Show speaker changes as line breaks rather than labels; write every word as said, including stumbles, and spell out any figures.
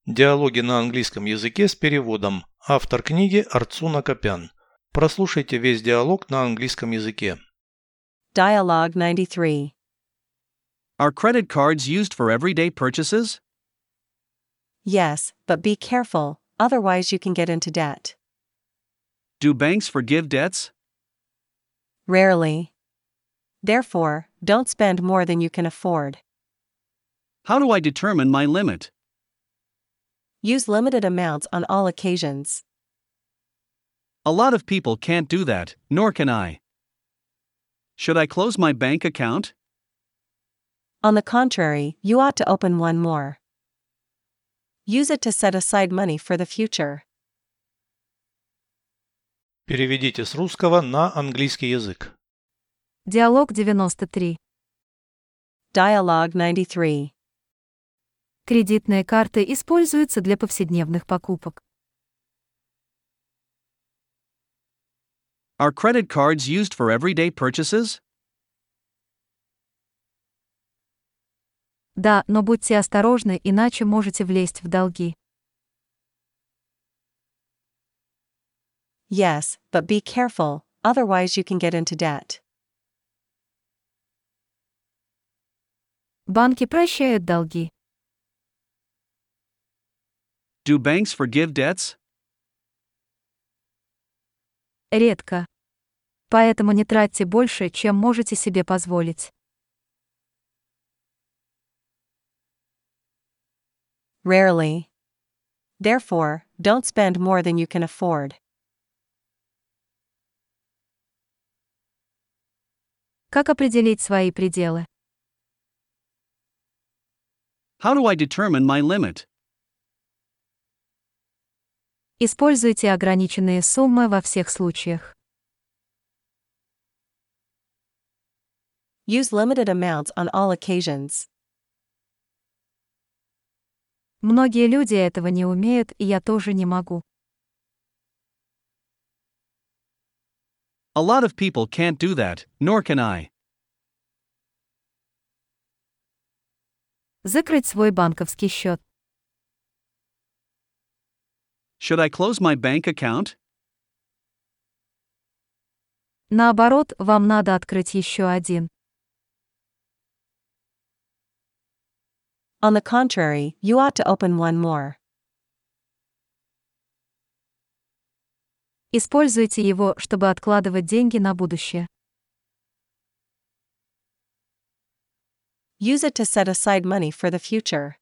Диалоги на английском языке с переводом. Автор книги Арцуна Копян. Прослушайте весь диалог на английском языке.
Dialogue ninety-three.
Are credit cards used for everyday purchases?
Yes, but be careful, otherwise you can get into debt.
Do banks forgive debts?
Rarely. Therefore, don't spend more than you can afford.
How do I determine my limit?
Use limited amounts on all occasions.
A lot of people can't do that, nor can I. Should I close my bank account?
On the contrary, you ought to open one more. Use it to set aside money for the future.
Переведите с русского на английский язык.
Диалог девяносто три.
Dialogue ninety-three.
Кредитные карты используются для повседневных покупок.
Are credit cards used for everyday purchases?
Да, но будьте осторожны, иначе можете влезть в долги.
Yes, but be careful, otherwise you can get into debt.
Банки прощают долги.
Do banks forgive debts?
Редко. Поэтому не тратьте больше, чем можете себе позволить.
Rarely. Therefore, don't spend more than you can afford.
Как определить свои пределы?
How do I determine my limit?
Используйте ограниченные суммы во всех случаях.
Use limited amounts on all occasions.
Многие люди этого не умеют, и я тоже не могу.
A lot of people can't do that, nor can I.
Закрыть свой банковский счет.
Should I close my bank account?
Наоборот, вам надо открыть еще один.
On the contrary, you ought to open one more.
Используйте его, чтобы откладывать деньги на будущее.
Use it to set aside money for the future.